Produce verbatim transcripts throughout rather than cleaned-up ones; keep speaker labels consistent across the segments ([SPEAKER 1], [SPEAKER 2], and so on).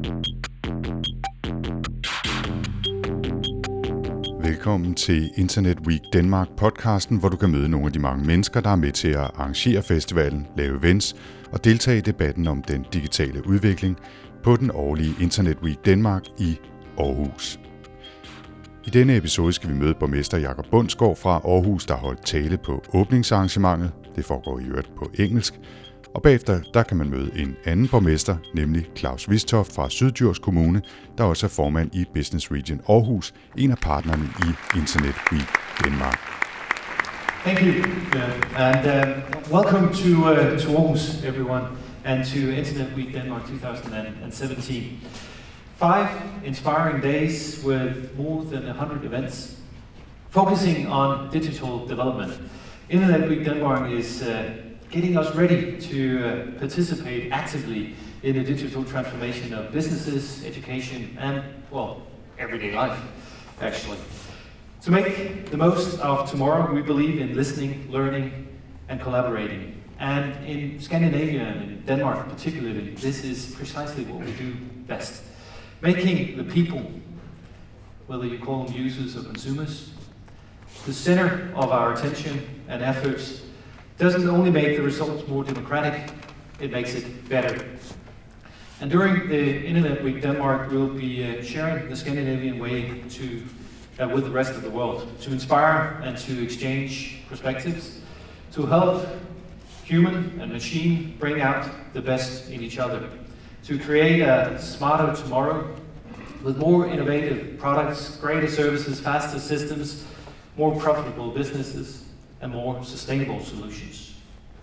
[SPEAKER 1] Velkommen til Internet Week Denmark podcasten, hvor du kan møde nogle af de mange mennesker, der er med til at arrangere festivalen, lave events og deltage i debatten om den digitale udvikling på den årlige Internet Week Denmark i Aarhus. I denne episode skal vi møde borgmester Jakob Bundsgaard fra Aarhus, der har holdt tale på åbningsarrangementet. Det foregår i øvrigt på engelsk. Og bagefter der kan man møde en anden borgmester, nemlig Claus Vistoft fra Syddjurs Kommune, der også er formand i Business Region Aarhus, en af partnerne i Internet Week Denmark.
[SPEAKER 2] Thank you, uh, and uh, welcome to uh, to Aarhus, everyone, and to Internet Week Denmark twenty seventeen. Five inspiring days with more than one hundred events, focusing on digital development. Internet Week Denmark is uh, getting us ready to uh, participate actively in the digital transformation of businesses, education, and, well, everyday life, actually. To make the most of tomorrow, we believe in listening, learning, and collaborating. And in Scandinavia and in Denmark particularly, this is precisely what we do best. Making the people, whether you call them users or consumers, the center of our attention and efforts doesn't only make the results more democratic, it makes it better. And during the Internet Week Denmark, we'll be uh, sharing the Scandinavian way to, uh, with the rest of the world, to inspire and to exchange perspectives, to help human and machine bring out the best in each other, to create a smarter tomorrow with more innovative products, greater services, faster systems, more profitable businesses, and more sustainable solutions.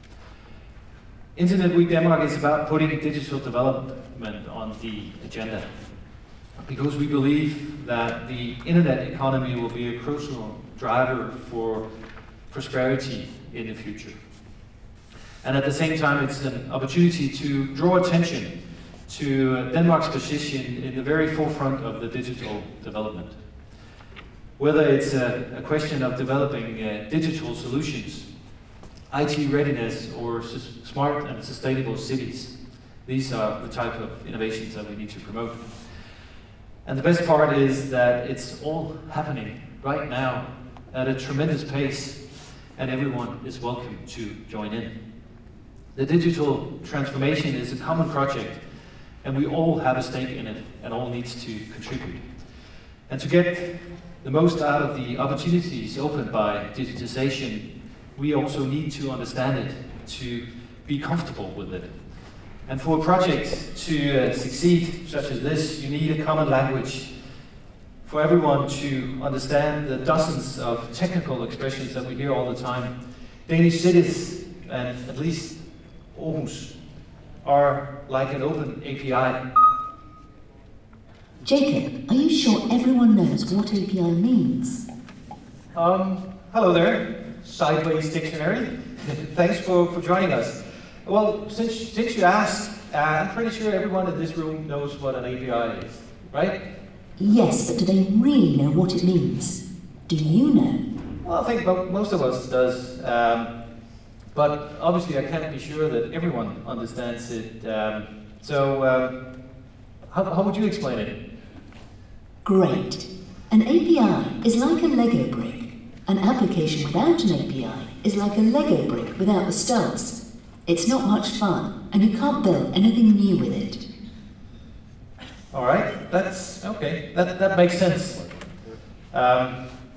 [SPEAKER 2] Internet Week Denmark is about putting digital development on the agenda because we believe that the internet economy will be a crucial driver for prosperity in the future. And at the same time, it's an opportunity to draw attention to Denmark's position in the very forefront of the digital development. Whether it's a, a question of developing uh, digital solutions, I T readiness, or s- smart and sustainable cities, these are the type of innovations that we need to promote. And the best part is that it's all happening right now at a tremendous pace, and everyone is welcome to join in. The digital transformation is a common project, and we all have a stake in it, and all needs to contribute. And to get the most out of the opportunities opened by digitization, we also need to understand it, to be comfortable with it. And for a project to uh, succeed such as this, you need a common language for everyone to understand the dozens of technical expressions that we hear all the time. Danish cities, and at least Aarhus, are like an open A P I.
[SPEAKER 3] Jacob, are you sure everyone knows what A P I means?
[SPEAKER 2] Um, hello there, Sideways Dictionary. Thanks for, for joining us. Well, since, since you asked, uh, I'm pretty sure everyone in this room knows what an A P I is, right?
[SPEAKER 3] Yes, but do they really know what it means? Do you know?
[SPEAKER 2] Well, I think mo- most of us does. Um, but obviously I can't be sure that everyone understands it. Um, so, um, how, how would you explain it?
[SPEAKER 3] Great. An A P I is like a Lego brick. An application without an A P I is like a Lego brick without the studs. It's not much fun, and you can't build anything new with it.
[SPEAKER 2] All right, that's okay. That that makes sense. Um,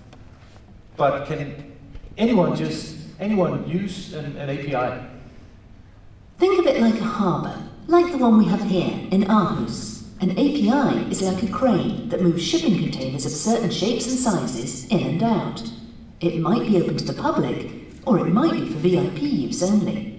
[SPEAKER 2] but can anyone just anyone use an, an A P I?
[SPEAKER 3] Think of it like a harbour, like the one we have here in Aarhus. An A P I is like a crane that moves shipping containers of certain shapes and sizes in and out. It might be open to the public, or it might be for V I P use only.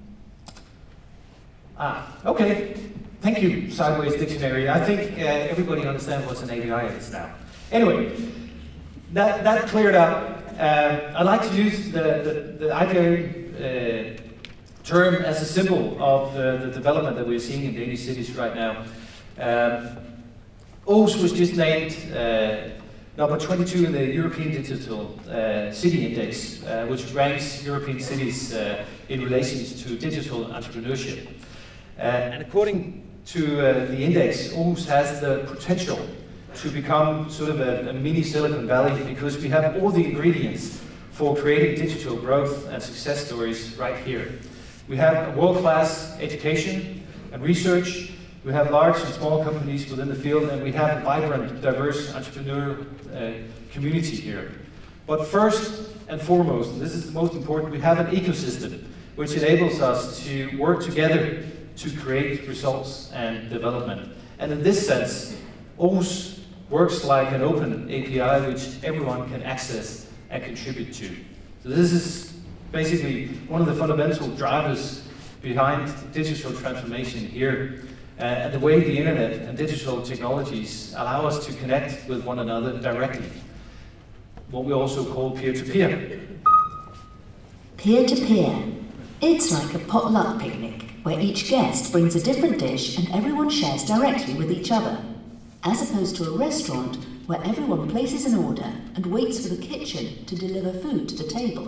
[SPEAKER 2] Ah, okay. Thank you, Sideways Dictionary. I think uh, everybody understands what an A P I is now. Anyway, that, that cleared up. Uh, I like to use the, the, the A P I uh, term as a symbol of uh, the development that we're seeing in Danish cities right now. Um, Aarhus was just named uh, number twenty-two in the European Digital uh, City Index, uh, which ranks European cities uh, in relation to digital entrepreneurship. Uh, and according to uh, the index, Aarhus has the potential to become sort of a, a mini Silicon Valley because we have all the ingredients for creating digital growth and success stories right here. We have a world-class education and research, we have large and small companies within the field, and we have a vibrant, diverse entrepreneur uh, community here. But first and foremost, and this is the most important, we have an ecosystem which enables us to work together to create results and development. And in this sense, Aarhus works like an open A P I which everyone can access and contribute to. So this is basically one of the fundamental drivers behind digital transformation here, uh, and the way the internet and digital technologies allow us to connect with one another directly, what we also call peer-to-peer.
[SPEAKER 3] Peer-to-peer. It's like a potluck picnic, where each guest brings a different dish and everyone shares directly with each other, as opposed to a restaurant where everyone places an order and waits for the kitchen to deliver food to the table.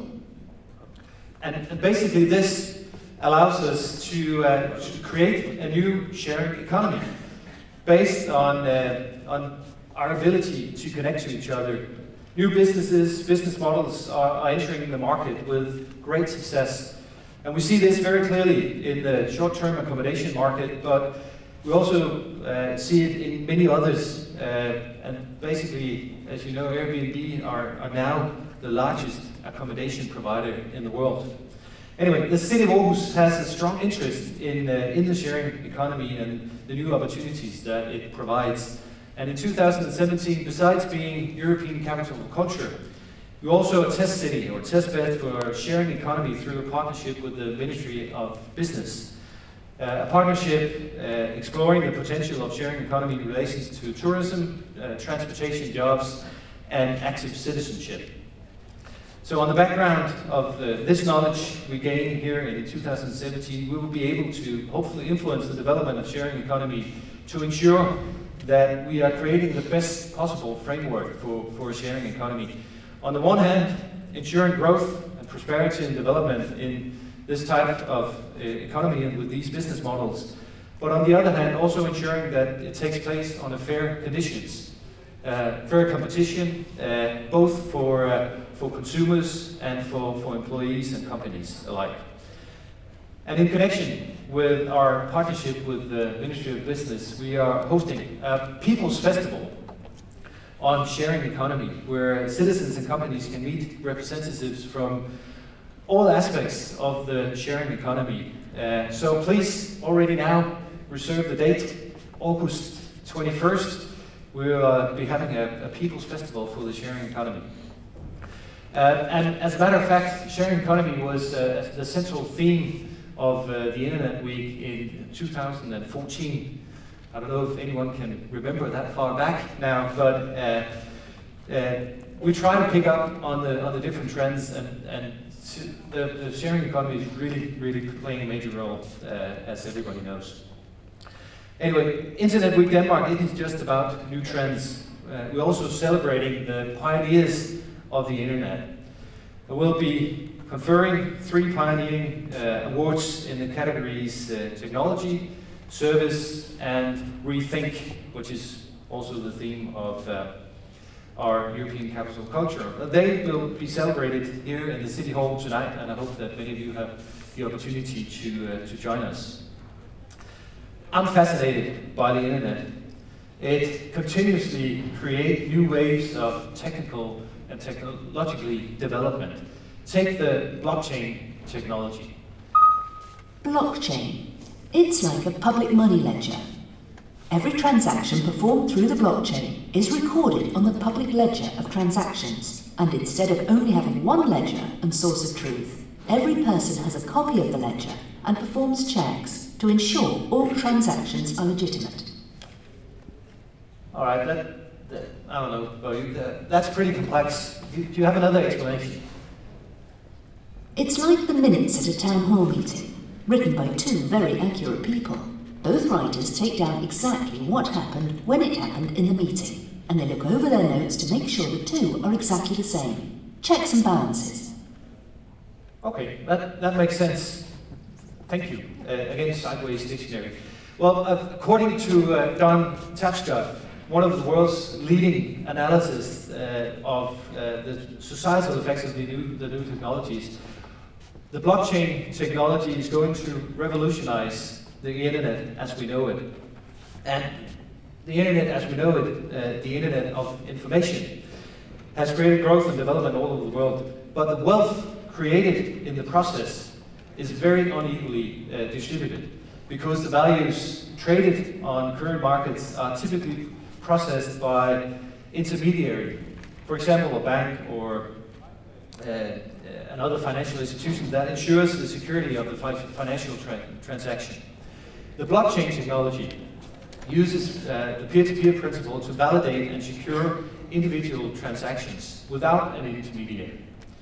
[SPEAKER 2] And, and basically this allows us to, uh, to create a new sharing economy based on, uh, on our ability to connect to each other. New businesses, business models are, are entering the market with great success. And we see this very clearly in the short-term accommodation market, but we also uh, see it in many others. Uh, and basically, as you know, Airbnb are, are now the largest accommodation provider in the world. Anyway, the city of Aarhus has a strong interest in, uh, in the sharing economy and the new opportunities that it provides. And in two thousand seventeen, besides being European Capital of Culture, we're also a test city or test bed for sharing economy through a partnership with the Ministry of Business. Uh, a partnership uh, exploring the potential of sharing economy in relations to tourism, uh, transportation, jobs, and active citizenship. So on the background of uh, this knowledge we gain here in two thousand seventeen, we will be able to hopefully influence the development of sharing economy to ensure that we are creating the best possible framework for, for a sharing economy. On the one hand, ensuring growth and prosperity and development in this type of uh, economy and with these business models, but on the other hand, also ensuring that it takes place on a fair conditions, uh, fair competition, uh, both for, uh, for consumers and for, for employees and companies alike. And in connection with our partnership with the Ministry of Business, we are hosting a People's Festival on sharing economy, where citizens and companies can meet representatives from all aspects of the sharing economy. Uh, so please, already now, reserve the date, August twenty-first. We'll uh, be having a, a People's Festival for the sharing economy. Uh, and as a matter of fact, sharing economy was uh, the central theme of uh, the Internet Week in two thousand fourteen. I don't know if anyone can remember that far back now, but uh, uh, we try to pick up on the on the different trends, and, and the, the sharing economy is really, really playing a major role, uh, as everybody knows. Anyway, Internet Week Denmark isn't just about new trends. Uh, we're also celebrating the pioneers of the Internet. We'll be conferring three pioneering uh, awards in the categories uh, technology, service, and rethink, which is also the theme of uh, our European Capital of Culture. They will be celebrated here in the City Hall tonight, and I hope that many of you have the opportunity to, uh, to join us. I'm fascinated by the internet. It continuously creates new waves of technical and technologically development. Take the blockchain technology.
[SPEAKER 3] Blockchain. It's like a public money ledger. Every transaction performed through the blockchain is recorded on the public ledger of transactions, and instead of only having one ledger and source of truth, every person has a copy of the ledger and performs checks to ensure all transactions are legitimate.
[SPEAKER 2] All right, that, that, I don't know, Bo, that, that's pretty complex. Do, do you have another explanation?
[SPEAKER 3] It's like the minutes at a town hall meeting, written by two very accurate people. Both writers take down exactly what happened when it happened in the meeting, and they look over their notes to make sure the two are exactly the same. Checks and balances.
[SPEAKER 2] Okay, that, that makes sense. Thank you. Uh, again, Sideways Dictionary. Well, according to uh, Don Tapscott, one of the world's leading analysts uh, of uh, the societal effects of the new, the new technologies, the blockchain technology is going to revolutionize the internet as we know it. And the internet as we know it, uh, the internet of information, has created growth and development all over the world. But the wealth created in the process is very unequally uh, distributed, because the values traded on current markets are typically processed by intermediary, for example, a bank or uh, another financial institution that ensures the security of the fi financial tra transaction. The blockchain technology uses uh, the peer-to-peer principle to validate and secure individual transactions without an intermediary.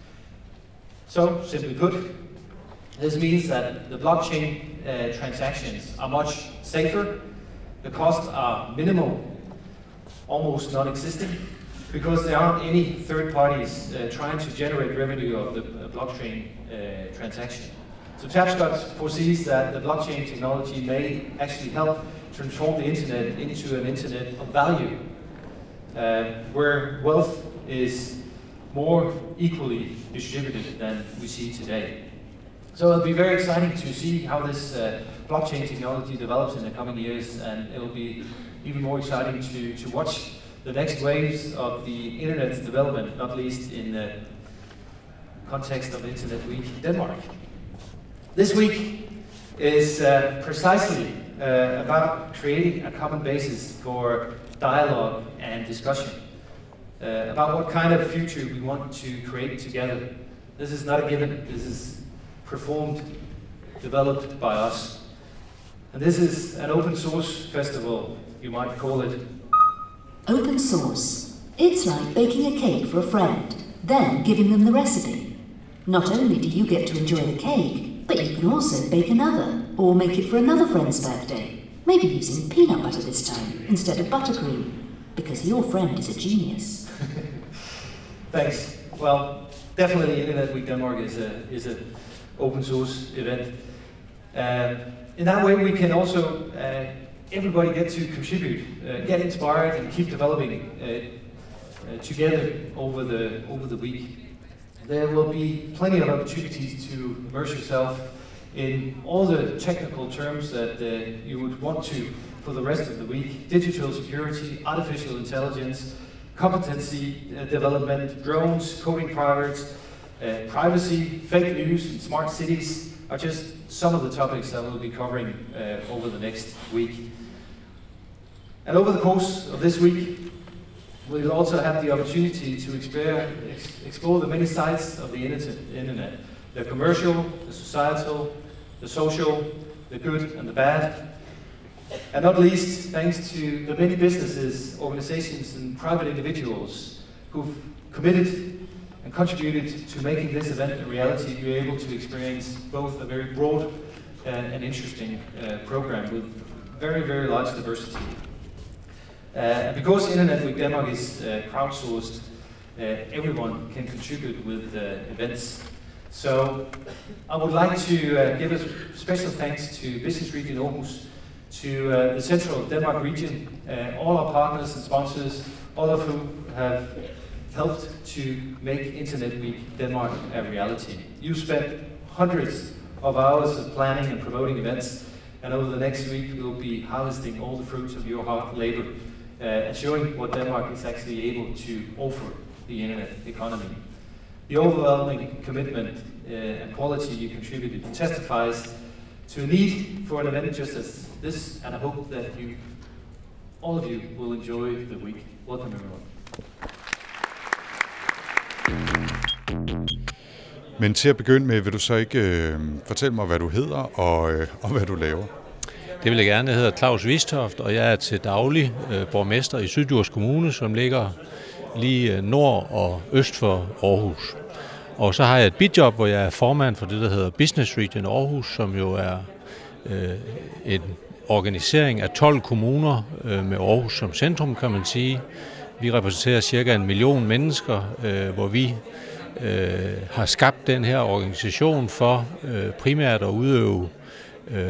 [SPEAKER 2] So, simply put, this means that the blockchain uh, transactions are much safer, the costs are minimal, almost non-existent, because there aren't any third parties uh, trying to generate revenue of the uh, blockchain uh, transaction. So Tapscott foresees that the blockchain technology may actually help transform the internet into an internet of value, uh, where wealth is more equally distributed than we see today. So it'll be very exciting to see how this uh, blockchain technology develops in the coming years, and it'll be even more exciting to, to watch the next waves of the internet's development, not least in the context of Internet Week Denmark. This week is uh, precisely uh, about creating a common basis for dialogue and discussion uh, about what kind of future we want to create together. This is not a given, this is performed, developed by us. And this is an open source festival, you might call it.
[SPEAKER 3] Open source. It's like baking a cake for a friend, then giving them the recipe. Not only do you get to enjoy the cake, but you can also bake another, or make it for another friend's birthday. Maybe using peanut butter this time, instead of buttercream, because your friend is a genius.
[SPEAKER 2] Thanks. Well, definitely Internet Week Denmark is a is an open source event. Uh, in that way we can also uh, everybody get to contribute, uh, get inspired, and keep developing uh, uh, together over the over the week. There will be plenty of opportunities to immerse yourself in all the technical terms that uh, you would want to for the rest of the week: digital security, artificial intelligence, competency uh, development, drones, coding privates, uh, privacy, fake news, and smart cities are just some of the topics that we'll be covering uh, over the next week. And over the course of this week, we'll also have the opportunity to explore, ex explore the many sides of the internet: the commercial, the societal, the social, the good and the bad. And not least, thanks to the many businesses, organizations and private individuals who've committed and contributed to making this event a reality, you're able to experience both a very broad uh, and interesting uh, program with very, very large diversity. Uh, and because Internet Week Denmark is uh, crowdsourced, uh, everyone can contribute with uh, events. So I would like to uh, give a special thanks to Business Region Aarhus, to uh, the Central Denmark region, uh, all our partners and sponsors, all of whom have helped to make Internet Week Denmark a reality. You spent hundreds of hours of planning and promoting events, and over the next week we'll be harvesting all the fruits of your hard labor uh, and showing what Denmark is actually able to offer the internet economy. The overwhelming commitment uh, and quality you contributed testifies to a need for an event just as this, and I hope that you, all of you, will enjoy the week. Welcome everyone.
[SPEAKER 1] Men til at begynde med, vil du så ikke øh, fortælle mig, hvad du hedder og, øh, og hvad du laver?
[SPEAKER 4] Det vil jeg gerne. Jeg hedder Claus Wistoft, og jeg er til daglig øh, borgmester i Syddjurs Kommune, som ligger lige nord og øst for Aarhus. Og så har jeg et bidjob, hvor jeg er formand for det, der hedder Business Region Aarhus, som jo er øh, en organisering af tolv kommuner øh, med Aarhus som centrum, kan man sige. Vi repræsenterer cirka en million mennesker, øh, hvor vi øh, har skabt den her organisation for øh, primært at udøve øh,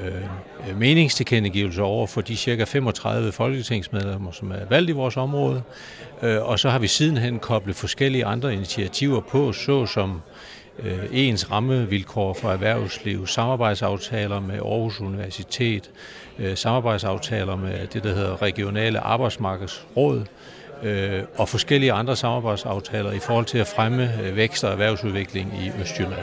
[SPEAKER 4] øh, meningstilkendegivelser over for de cirka femogtredive folketingsmedlemmer, som er valgt i vores område. Øh, og så har vi sidenhen koblet forskellige andre initiativer på, såsom øh, ens rammevilkår for erhvervsliv, samarbejdsaftaler med Aarhus Universitet, øh, samarbejdsaftaler med det, der hedder regionale arbejdsmarkedsråd, øh, og forskellige andre samarbejdsaftaler i forhold til at fremme øh, vækst og erhvervsudvikling i Østjylland.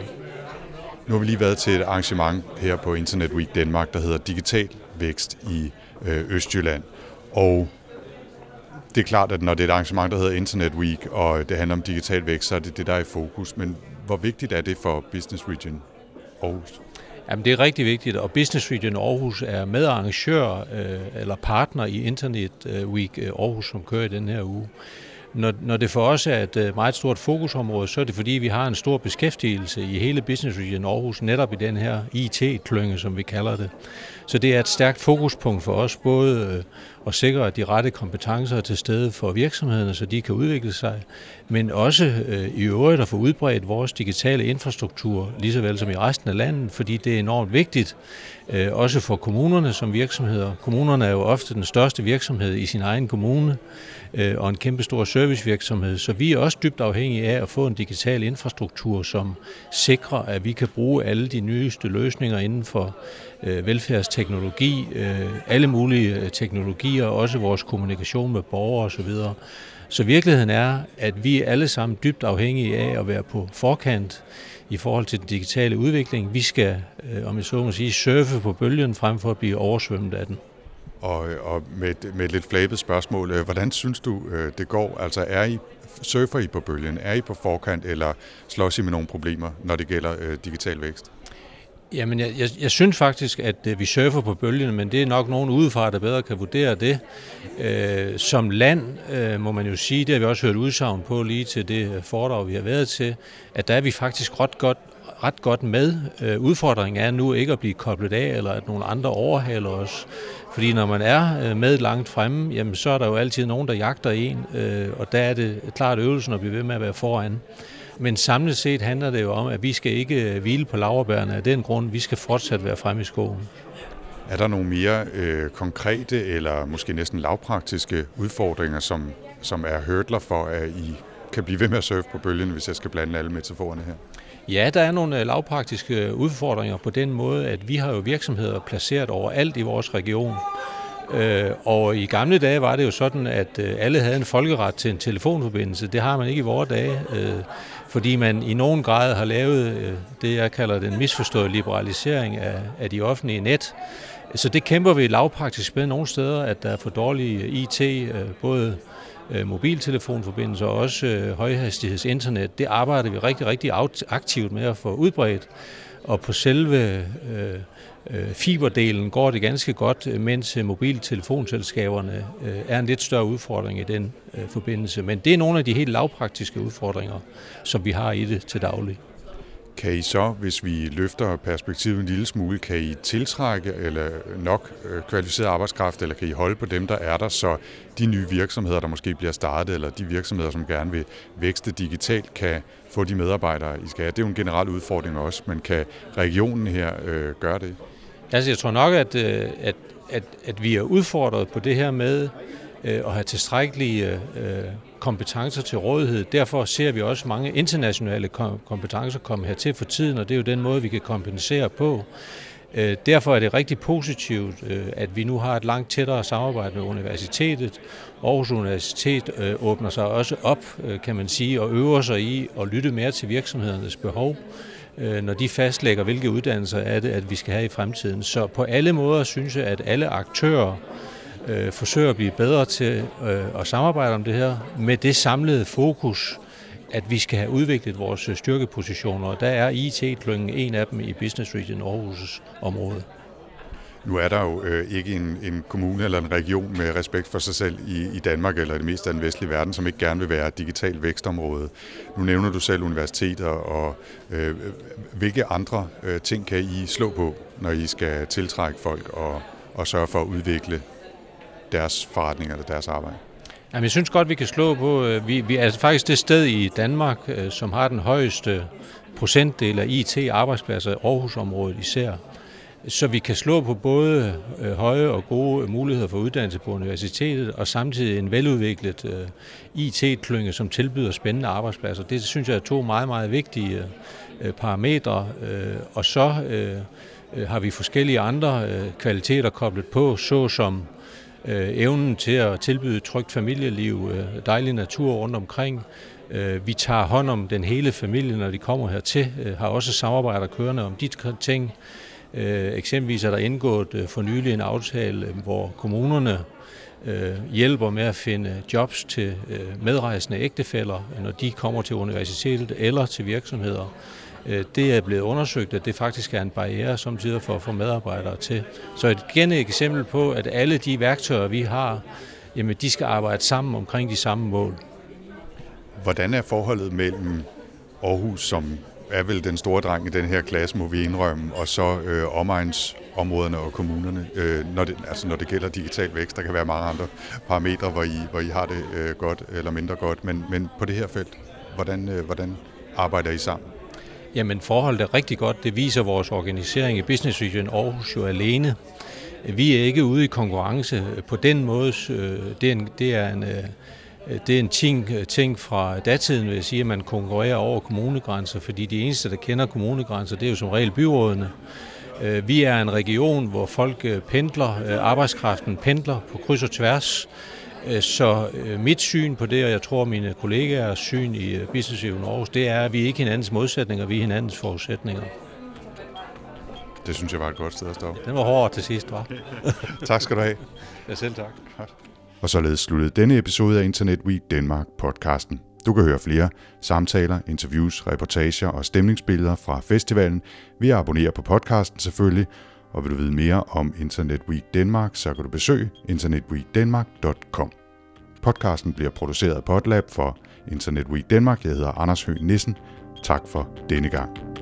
[SPEAKER 1] Nu har vi lige været til et arrangement her på Internet Week Danmark, der hedder Digital Vækst i øh, Østjylland. Og det er klart, at når det er et arrangement, der hedder Internet Week, og det handler om digital vækst, så er det det, der er i fokus. Men hvor vigtigt er det for Business Region Aarhus?
[SPEAKER 4] Jamen, det er rigtig vigtigt, og Business Region Aarhus er medarrangør øh, eller partner i Internet Week Aarhus, som kører i den her uge. Når, når det for os er et meget stort fokusområde, så er det fordi, vi har en stor beskæftigelse i hele Business Region Aarhus, netop i den her I T-klynge, som vi kalder det. Så det er et stærkt fokuspunkt for os, både at sikre, at de rette kompetencer er til stede for virksomhederne, så de kan udvikle sig, men også øh, i øvrigt at få udbredt vores digitale infrastruktur, lige så vel som i resten af landet, fordi det er enormt vigtigt, øh, også for kommunerne som virksomheder. Kommunerne er jo ofte den største virksomhed i sin egen kommune, øh, og en kæmpe stor servicevirksomhed, så vi er også dybt afhængige af at få en digital infrastruktur, som sikrer, at vi kan bruge alle de nyeste løsninger inden for øh, velfærdsteknologi, øh, alle mulige teknologier, også vores kommunikation med borgere osv. Så virkeligheden er, at vi er alle sammen dybt afhængige af at være på forkant i forhold til den digitale udvikling. Vi skal, øh, om jeg så må sige, surfe på bølgen frem for at blive oversvømmet af den.
[SPEAKER 1] Og, og med, med et lidt flabet spørgsmål, hvordan synes du, det går? Altså er I, surfer I på bølgen? Er I på forkant, eller slås I med nogle problemer, når det gælder øh, digital vækst?
[SPEAKER 4] Jamen, jeg, jeg, jeg synes faktisk, at øh, vi surfer på bølgen, men det er nok nogen udefra, der bedre kan vurdere det. Øh, som land, øh, må man jo sige, det har vi også hørt udsagn på lige til det foredrag, vi har været til, at der er vi faktisk ret godt, ret godt med. Øh, udfordringen er nu ikke at blive koblet af, eller at nogle andre overhaler os. Fordi når man er med langt fremme, jamen, så er der jo altid nogen, der jagter en, øh, og der er det klart øvelsen at blive ved med at være foran. Men samlet set handler det jo om, at vi skal ikke hvile på laurbærrene af den grund, vi skal fortsat være fremme i skoven.
[SPEAKER 1] Er der nogle mere øh, konkrete eller måske næsten lavpraktiske udfordringer, som, som er hurdler for, at I kan blive ved med at surfe på bølgen, hvis jeg skal blande alle metaforerne her?
[SPEAKER 4] Ja, der er nogle lavpraktiske udfordringer på den måde, at vi har jo virksomheder placeret overalt i vores region. Og i gamle dage var det jo sådan, at alle havde en folkeret til en telefonforbindelse. Det har man ikke i vore dage, fordi man i nogen grad har lavet det, jeg kalder den misforståede liberalisering af, af de offentlige net. Så det kæmper vi lavpraktisk med nogle steder, at der er for dårlige I T, både mobiltelefonforbindelser og også højhastighedsinternet. Det arbejder vi rigtig, rigtig aktivt med at få udbredt. Og på selve øh, fiberdelen går det ganske godt, mens mobiltelefonselskaberne øh, er en lidt større udfordring i den øh, forbindelse. Men det er nogle af de helt lavpraktiske udfordringer, som vi har i det til daglig.
[SPEAKER 1] Kan I så, hvis vi løfter perspektivet en lille smule, kan I tiltrække eller nok kvalificeret arbejdskraft, eller kan I holde på dem, der er der, så de nye virksomheder, der måske bliver startet, eller de virksomheder, som gerne vil vækste digitalt, kan få de medarbejdere, I skal have? Det er jo en generel udfordring også, men kan regionen her øh, gøre det?
[SPEAKER 4] Altså, jeg tror nok, at, at, at, at vi er udfordret på det her med øh, at have tilstrækkelige øh, kompetencer til rådighed. Derfor ser vi også mange internationale kompetencer komme hertil for tiden, og det er jo den måde, vi kan kompensere på. Derfor er det rigtig positivt, at vi nu har et langt tættere samarbejde med universitetet. Aarhus Universitet åbner sig også op, kan man sige, og øver sig i at lytte mere til virksomhedernes behov, når de fastlægger, hvilke uddannelser er det, at vi skal have i fremtiden. Så på alle måder synes jeg, at alle aktører øh, forsøger at blive bedre til øh, at samarbejde om det her, med det samlede fokus, at vi skal have udviklet vores styrkepositioner, og der er I T-klyngen en af dem i Business Region Aarhus' område.
[SPEAKER 1] Nu er der jo øh, ikke en, en kommune eller en region med respekt for sig selv i, i Danmark eller i det meste af den vestlige verden, som ikke gerne vil være et digitalt vækstområde. Nu nævner du selv universiteter, og øh, hvilke andre øh, ting kan I slå på, når I skal tiltrække folk og, og sørge for at udvikle deres forretninger eller deres arbejde?
[SPEAKER 4] Jamen, jeg synes godt, vi kan slå på, vi, vi er faktisk det sted i Danmark, som har den højeste procentdel af I T-arbejdspladser i Aarhusområdet især. så vi kan slå på både øh, høje og gode muligheder for uddannelse på universitetet, og samtidig en veludviklet øh, I T-klynge, som tilbyder spændende arbejdspladser. Det synes jeg er to meget, meget vigtige øh, parametre, øh, og så øh, øh, har vi forskellige andre øh, kvaliteter koblet på, såsom øh, evnen til at tilbyde trygt familieliv, øh, dejlig natur rundt omkring. Vi tager hånd om den hele familie, når de kommer hertil, har også samarbejder kørende om de ting. Eksempelvis er der indgået for nylig en aftale, hvor kommunerne hjælper med at finde jobs til medrejsende ægtefæller, når de kommer til universitetet eller til virksomheder. Det er blevet undersøgt, at det faktisk er en barriere samtidig for at få medarbejdere til. Så et igen et eksempel på, at alle de værktøjer, vi har, jamen, de skal arbejde sammen omkring de samme mål.
[SPEAKER 1] Hvordan er forholdet mellem Aarhus, som er vel den store dreng i den her klasse, må vi indrømme, og så øh, omegnsområderne og kommunerne, øh, når, det, altså når det gælder digital vækst? Der kan være mange andre parametre, hvor I, hvor I har det øh, godt eller mindre godt, men, men på det her felt, hvordan, øh, hvordan arbejder I sammen?
[SPEAKER 4] Jamen forholdet er rigtig godt. Det viser vores organisering i Business Region Aarhus jo alene. Vi er ikke ude i konkurrence på den måde. Det er en, det er en Det er en ting, ting fra datiden, vil jeg sige, at man konkurrerer over kommunegrænser, fordi de eneste, der kender kommunegrænser, det er jo som regel byrådene. Vi er en region, hvor folk pendler, arbejdskraften pendler på kryds og tværs. Så mit syn på det, og jeg tror mine kollegaers syn i Business Region Aarhus, det er, at vi ikke er hinandens modsætninger, vi er hinandens forudsætninger.
[SPEAKER 1] Det synes jeg var et godt sted at stoppe.
[SPEAKER 4] Den var hård til sidst, hva'?
[SPEAKER 1] Tak skal du have.
[SPEAKER 4] Ja, selv tak.
[SPEAKER 1] Og således sluttede denne episode af Internet Week Denmark podcasten. Du kan høre flere samtaler, interviews, reportager og stemningsbilleder fra festivalen ved at abonnere på podcasten selvfølgelig. Og vil du vide mere om Internet Week Denmark, så kan du besøge internet week denmark punktum com. Podcasten bliver produceret af Podlab for Internet Week Denmark. Jeg hedder Anders Høgh Nissen. Tak for denne gang.